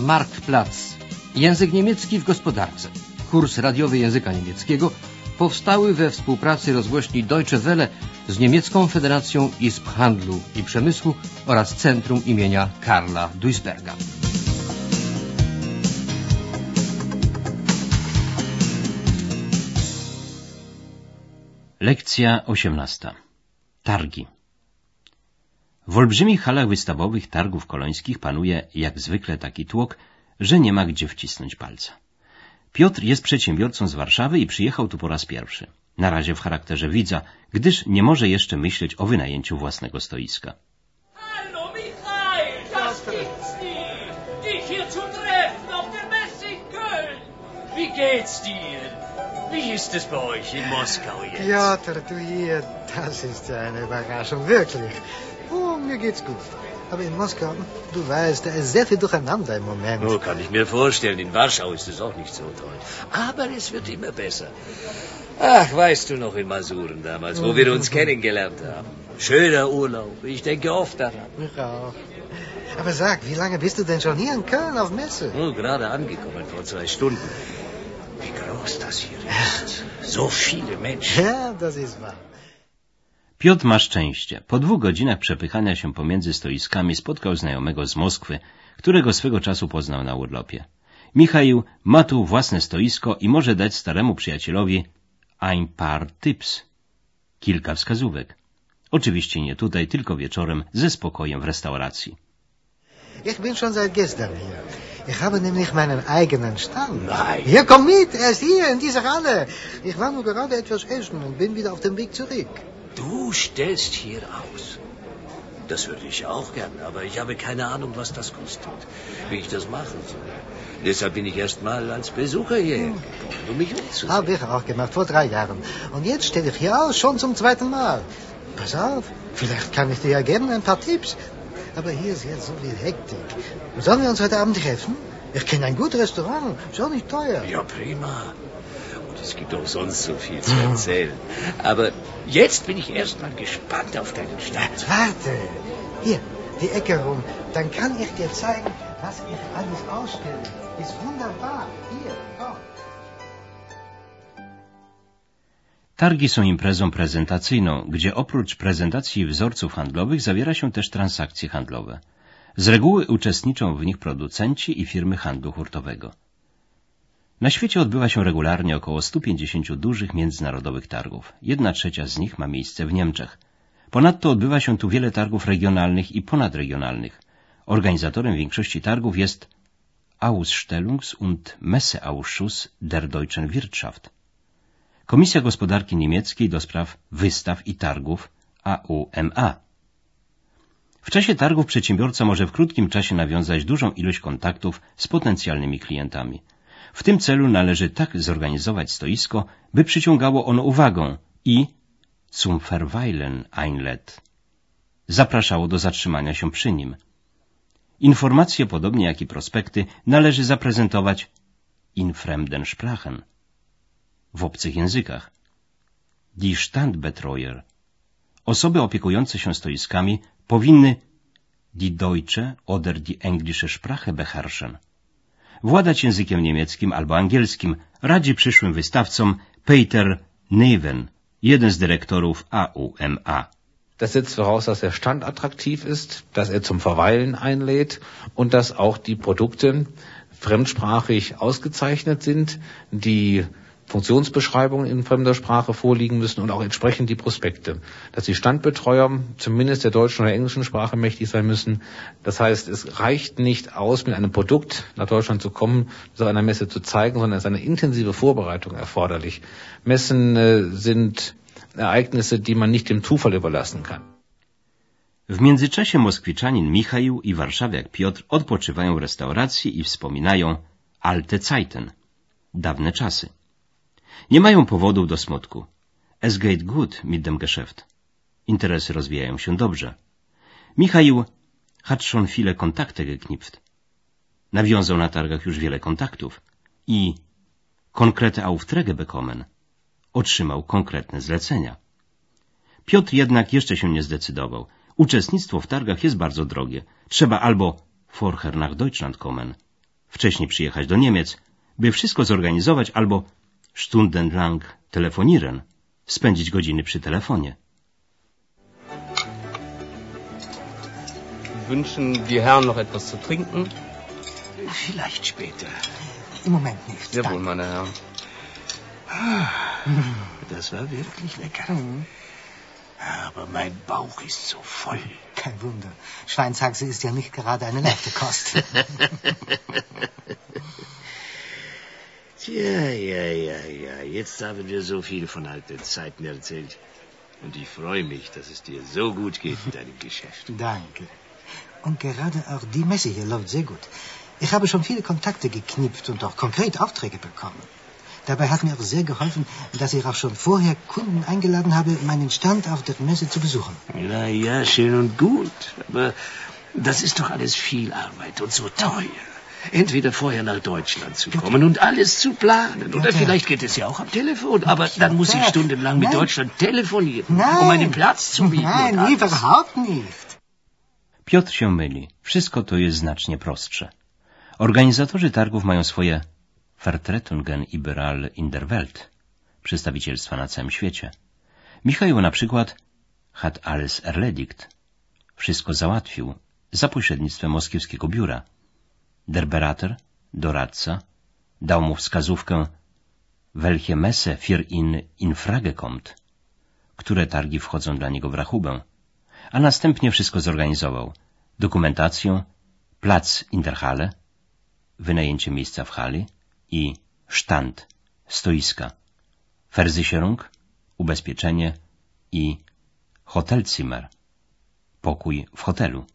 Marktplatz. Język niemiecki w gospodarce. Kurs radiowy języka niemieckiego powstały we współpracy rozgłośni Deutsche Welle z Niemiecką Federacją Izb Handlu i Przemysłu oraz Centrum imienia Karla Duisberga. Lekcja 18. Targi. W olbrzymich halach wystawowych targów kolońskich panuje jak zwykle taki tłok, że nie ma gdzie wcisnąć palca. Piotr jest przedsiębiorcą z Warszawy i przyjechał tu po raz pierwszy. Na razie w charakterze widza, gdyż nie może jeszcze myśleć o wynajęciu własnego stoiska. Hallo Michael, das gibt's nie! Dich hier zu treffen auf der Messe in Köln! Wie geht's dir? Wie ist es bei euch in Moskau jetzt? Piotr, du hier, das ist ja eine Überraschung, wirklich. Oh, mir geht's gut. Aber in Moskau, du weißt, da ist sehr viel durcheinander im Moment. Oh, kann ich mir vorstellen. In Warschau ist es auch nicht so toll. Aber es wird immer besser. Ach, weißt du noch in Masuren damals, wo wir uns kennengelernt haben? Schöner Urlaub. Ich denke oft daran. Ich auch. Aber sag, wie lange bist du denn schon hier in Köln auf Messe? Oh, gerade angekommen, vor 2 Stunden. Wie groß das hier ist. So viele Menschen. Ja, das ist wahr. Piotr ma szczęście. Po 2 godzinach przepychania się pomiędzy stoiskami spotkał znajomego z Moskwy, którego swego czasu poznał na urlopie. Michał ma tu własne stoisko i może dać staremu przyjacielowi ein paar Tipps. Kilka wskazówek. Oczywiście nie tutaj, tylko wieczorem ze spokojem w restauracji. Ich bin schon seit gestern hier. Ich habe nämlich meinen eigenen Stand. Nein. Ja, komm mit, er ist hier in dieser Halle. Ich war nur gerade etwas essen und bin wieder auf dem Weg zurück. Du stellst hier aus. Das würde ich auch gern, aber ich habe keine Ahnung, was das kostet, wie ich das machen soll. Deshalb bin ich erst mal als Besucher hierher gekommen, um mich umzusehen. Habe ich auch gemacht, vor 3 Jahren. Und jetzt stelle ich hier aus, schon zum 2. Mal. Pass auf, vielleicht kann ich dir ja geben ein paar Tipps. Aber hier ist jetzt so viel Hektik. Sollen wir uns heute Abend treffen? Ich kenne ein gutes Restaurant, ist auch nicht teuer. Ja, prima. Und es gibt auch sonst so viel zu erzählen. Aber jetzt bin ich erst mal gespannt auf deinen Stand. Warte, hier, die Ecke rum. Dann kann ich dir zeigen, was ich alles ausstelle. Ist wunderbar. Hier, komm. Targi są imprezą prezentacyjną, gdzie oprócz prezentacji wzorców handlowych zawiera się też transakcje handlowe. Z reguły uczestniczą w nich producenci i firmy handlu hurtowego. Na świecie odbywa się regularnie około 150 dużych międzynarodowych targów. 1/3 z nich ma miejsce w Niemczech. Ponadto odbywa się tu wiele targów regionalnych i ponadregionalnych. Organizatorem większości targów jest Ausstellungs- und Messeausschuss der Deutschen Wirtschaft. Komisja Gospodarki Niemieckiej do spraw wystaw i targów AUMA. W czasie targów przedsiębiorca może w krótkim czasie nawiązać dużą ilość kontaktów z potencjalnymi klientami. W tym celu należy tak zorganizować stoisko, by przyciągało ono uwagę i zum Verweilen einlädt. Zapraszało do zatrzymania się przy nim. Informacje, podobnie jak i prospekty, należy zaprezentować in fremden Sprachen, w obcych językach. Die Standbetreuer, osoby opiekujące się stoiskami, powinny die deutsche oder die englische Sprache beherrschen, władać językiem niemieckim albo angielskim, radzi przyszłym wystawcom Peter Neven, jeden z dyrektorów AUMA. Das setzt voraus, dass der Stand attraktiv ist, dass er zum Verweilen einlädt und dass auch die Produkte fremdsprachig ausgezeichnet sind, die Funktionsbeschreibungen in fremder Sprache vorliegen müssen und auch entsprechend die Prospekte. Dass die Standbetreuer zumindest der deutschen oder englischen Sprache mächtig sein müssen. Das heißt, es reicht nicht aus, mit einem Produkt nach Deutschland zu kommen, das auf einer Messe zu zeigen, sondern es ist eine intensive Vorbereitung erforderlich. Messen sind Ereignisse, die man nicht dem Zufall überlassen kann. W międzyczasie moskwiczanin Michał i warszawiak Piotr odpoczywają w restauracji i wspominają alte Zeiten, dawne czasy. Nie mają powodów do smutku. Es geht gut mit dem Geschäft. Interesy rozwijają się dobrze. Michał hat schon viele Kontakte geknüpft. Nawiązał na targach już wiele kontaktów i konkrete Aufträge bekommen. Otrzymał konkretne zlecenia. Piotr jednak jeszcze się nie zdecydował. Uczestnictwo w targach jest bardzo drogie. Trzeba albo vorher nach Deutschland kommen, wcześniej przyjechać do Niemiec, by wszystko zorganizować albo stundenlang telefonieren, spędzić godziny przy telefonie. Wünschen die Herren noch etwas zu trinken? Vielleicht später. Im Moment nicht. Jawohl, Danke. meine Herren. Das war wirklich lecker. Aber mein Bauch ist so voll. Kein Wunder. Schweinshaxe ist ja nicht gerade eine leichte Kost. Ja. Jetzt haben wir so viel von alten Zeiten erzählt. Und ich freue mich, dass es dir so gut geht in deinem Geschäft. Danke. Und gerade auch die Messe hier läuft sehr gut. Ich habe schon viele Kontakte geknüpft und auch konkret Aufträge bekommen. Dabei hat mir auch sehr geholfen, dass ich auch schon vorher Kunden eingeladen habe, meinen Stand auf der Messe zu besuchen. Ja, schön und gut. Aber das ist doch alles viel Arbeit und so teuer. Entweder vorher nach Deutschland zu kommen und alles zu planen. Oder vielleicht geht es ja auch am Telefon. Aber dann muss ich stundenlang mit Deutschland telefonieren, um einen Platz zu mieten. Nein, überhaupt nicht. Piotr się myli. Wszystko to jest znacznie prostsze. Organizatorzy targów mają swoje Vertretungen überall in der Welt, przedstawicielstwa na całym świecie. Michał na przykład hat alles erledigt, wszystko załatwił za pośrednictwem moskiewskiego biura. Der Berater, doradca, dał mu wskazówkę welche Messe für ihn in Frage kommt, które targi wchodzą dla niego w rachubę, a następnie wszystko zorganizował. Dokumentację, plac in der Halle, wynajęcie miejsca w hali i Stand, stoiska, Versicherung, ubezpieczenie i Hotelzimmer, pokój w hotelu.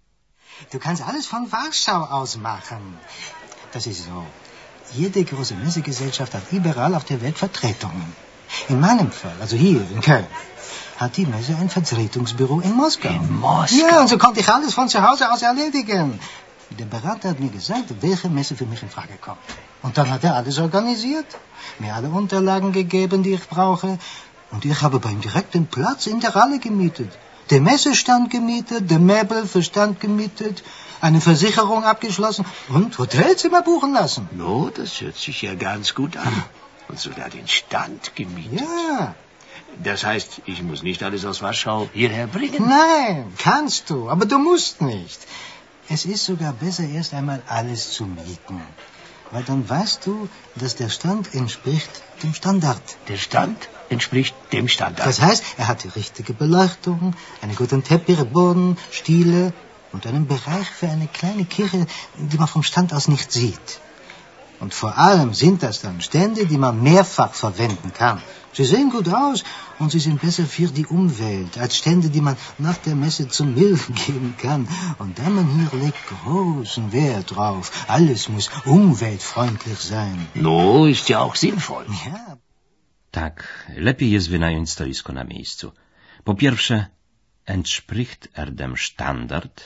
Du kannst alles von Warschau aus machen. Das ist so. Jede große Messegesellschaft hat überall auf der Welt Vertretungen. In meinem Fall, also hier in Köln, hat die Messe ein Vertretungsbüro in Moskau. In Moskau? Ja, und so konnte ich alles von zu Hause aus erledigen. Der Berater hat mir gesagt, welche Messe für mich in Frage kommt. Und dann hat er alles organisiert, mir alle Unterlagen gegeben, die ich brauche. Und ich habe beim direkten Platz in der Halle gemietet. Der Messestand gemietet, der Möbel für Stand gemietet, eine Versicherung abgeschlossen und Hotelzimmer buchen lassen. No, das hört sich ja ganz gut an. Und sogar den Stand gemietet. Ja. Das heißt, ich muss nicht alles aus Warschau hierher bringen? Nein, kannst du, aber du musst nicht. Es ist sogar besser, erst einmal alles zu mieten. Weil dann weißt du, dass der Stand entspricht dem Standard. Der Stand entspricht dem Standard. Das heißt, er hat die richtige Beleuchtung, einen guten Teppichboden, Stiele und einen Bereich für eine kleine Kirche, die man vom Stand aus nicht sieht. Und vor allem sind das dann Stände, die man mehrfach verwenden kann. Sie sehen gut aus und sie sind besser für die Umwelt als Stände, die man nach der Messe zum Müll geben kann. Und der Mann hier legt großen Wert drauf. Alles muss umweltfreundlich sein. No, ist ja auch sinnvoll. Ja. Tak, lepiej jest wynająć stoisko na miejscu. Po pierwsze, entspricht er dem Standard?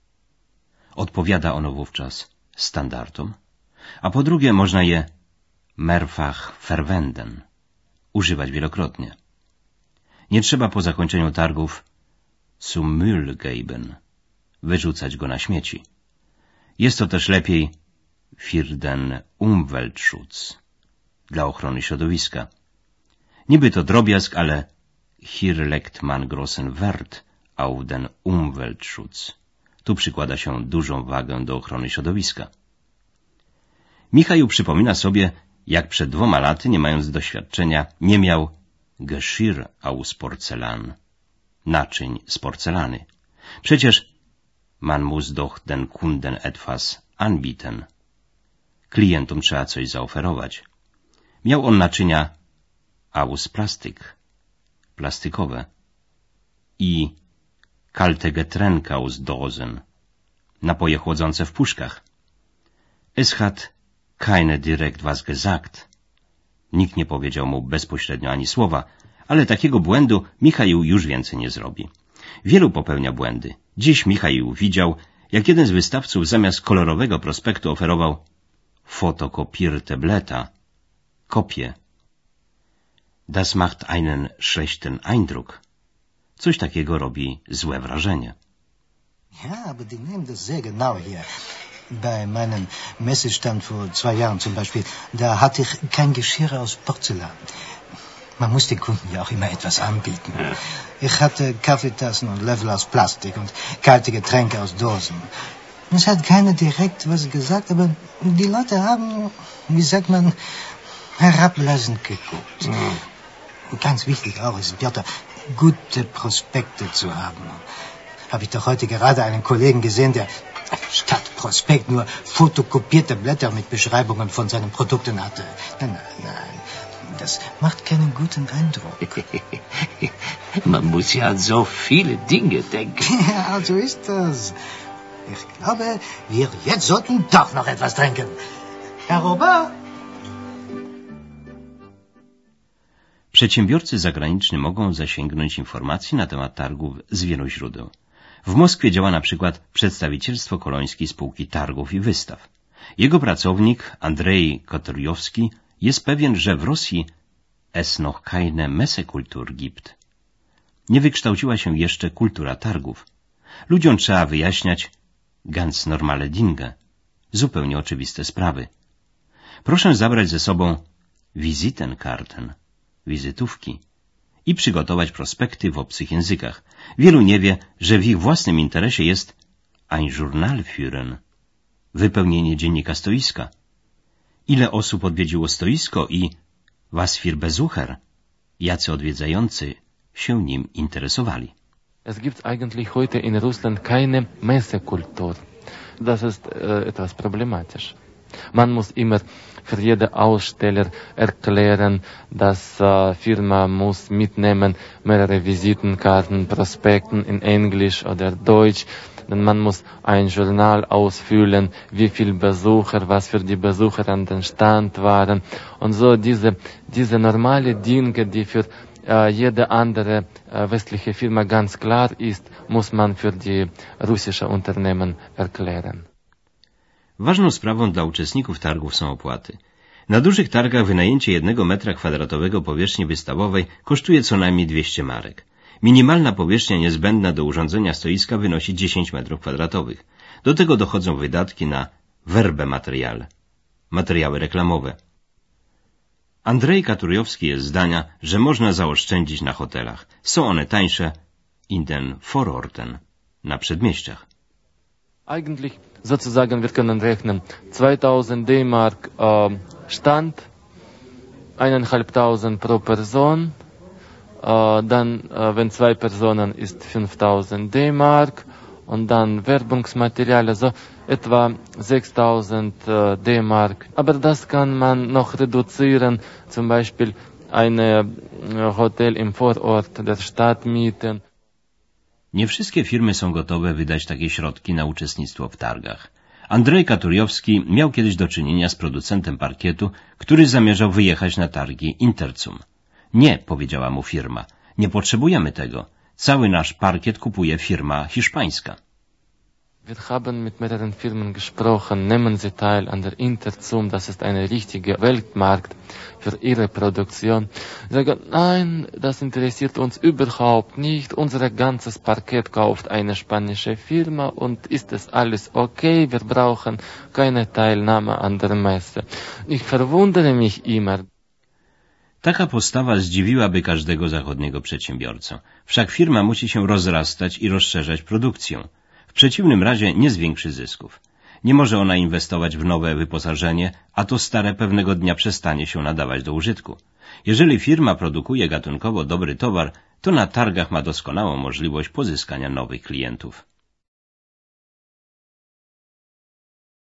Odpowiada ono wówczas standardom. A po drugie, można je mehrfach verwenden, używać wielokrotnie. Nie trzeba po zakończeniu targów zum Müll geben, wyrzucać go na śmieci. Jest to też lepiej für den Umweltschutz, dla ochrony środowiska. Niby to drobiazg, ale hier legt man großen Wert auf den Umweltschutz. Tu przykłada się dużą wagę do ochrony środowiska. Michał przypomina sobie, jak przed 2 laty, nie mając doświadczenia, nie miał Geschirr aus Porzellan, naczyń z porcelany. Przecież man muss doch den Kunden etwas anbieten. Klientom trzeba coś zaoferować. Miał on naczynia aus Plastik, plastikowe, i kalte Getränke aus Dosen, napoje chłodzące w puszkach. Es hat keine direkt was gesagt. Nikt nie powiedział mu bezpośrednio ani słowa, ale takiego błędu Michał już więcej nie zrobi. Wielu popełnia błędy. Dziś Michał widział, jak jeden z wystawców zamiast kolorowego prospektu oferował fotokopierte Blätter, kopię. Das macht einen schlechten Eindruck. Coś takiego robi złe wrażenie. Ja, aber die nehmen das sehr genau hier. Bei meinem Messestand vor 2 Jahren zum Beispiel, da hatte ich kein Geschirr aus Porzellan. Man muss den Kunden ja auch immer etwas anbieten. Ja. Ich hatte Kaffeetassen und Löffel aus Plastik und kalte Getränke aus Dosen. Es hat keiner direkt was gesagt, aber die Leute haben, wie sagt man, herablassend geguckt. Ja. Ganz wichtig auch ist, Piotr, gute Prospekte zu haben. Habe ich doch heute gerade einen Kollegen gesehen, der statt Prospekt nur fotokopierte Blätter mit Beschreibungen von seinen Produkten hatte. Nein, das macht keinen guten Eindruck. Man muss ja an so viele Dinge denken. Ja, so ist das. Ich glaube, wir jetzt sollten doch noch etwas trinken. Herr Robert? Przedsiębiorcy zagraniczni mogą zasięgnąć informacji na temat targów z wielu źródeł. W Moskwie działa na przykład przedstawicielstwo kolońskiej spółki targów i wystaw. Jego pracownik, Andrzej Kotoriowski, jest pewien, że w Rosji es noch keine Messekultur gibt. Nie wykształciła się jeszcze kultura targów. Ludziom trzeba wyjaśniać ganz normale Dinge, zupełnie oczywiste sprawy. Proszę zabrać ze sobą Visitenkarten, wizytówki i przygotować prospekty w obcych językach. Wielu nie wie, że w ich własnym interesie jest ein Journal führen, wypełnienie dziennika stoiska. Ile osób odwiedziło stoisko i was für Besucher, jacy odwiedzający się nim interesowali. Es gibt eigentlich heute in Russland keine Messekultur. Das ist etwas problematisch. Man muss immer für jeden Aussteller erklären, dass Firma muss mitnehmen mehrere Visitenkarten, Prospekten in Englisch oder Deutsch. Denn man muss ein Journal ausfüllen, wie viel Besucher, was für die Besucher an den Stand waren. Und so diese normale Dinge, die für jede andere westliche Firma ganz klar ist, muss man für die russische Unternehmen erklären. Ważną sprawą dla uczestników targów są opłaty. Na dużych targach wynajęcie 1 metra kwadratowego powierzchni wystawowej kosztuje co najmniej 200 marek. Minimalna powierzchnia niezbędna do urządzenia stoiska wynosi 10 metrów kwadratowych. Do tego dochodzą wydatki na werbemateriale, materiały reklamowe. Andrzej Kotoriowski jest zdania, że można zaoszczędzić na hotelach. Są one tańsze in den Vororten, na przedmieściach. Eigentlich sozusagen wir können rechnen 2000 D-Mark Stand, 1500 pro Person, dann wenn 2 Personen ist 5000 D-Mark und dann Werbungsmaterial, also etwa 6000 D-Mark. Aber das kann man noch reduzieren, zum Beispiel ein Hotel im Vorort der Stadt mieten. Nie wszystkie firmy są gotowe wydać takie środki na uczestnictwo w targach. Andrzej Kotoriowski miał kiedyś do czynienia z producentem parkietu, który zamierzał wyjechać na targi Interzum. Nie, powiedziała mu firma, nie potrzebujemy tego. Cały nasz parkiet kupuje firma hiszpańska. Wir haben mit mehreren Firmen gesprochen, nehmen Sie teil an der Interzum, das ist ein richtiger Weltmarkt für Ihre Produktion. Sie sagen, nein, das interessiert uns überhaupt nicht, unser ganzes Parkett kauft eine spanische Firma und ist es alles okay, wir brauchen keine Teilnahme an der Messe. Ich verwundere mich immer. Taka postawa zdziwiłaby każdego zachodniego przedsiębiorcę. Wszak firma musi się rozrastać i rozszerzać produkcję. W przeciwnym razie nie zwiększy zysków. Nie może ona inwestować w nowe wyposażenie, a to stare pewnego dnia przestanie się nadawać do użytku. Jeżeli firma produkuje gatunkowo dobry towar, to na targach ma doskonałą możliwość pozyskania nowych klientów.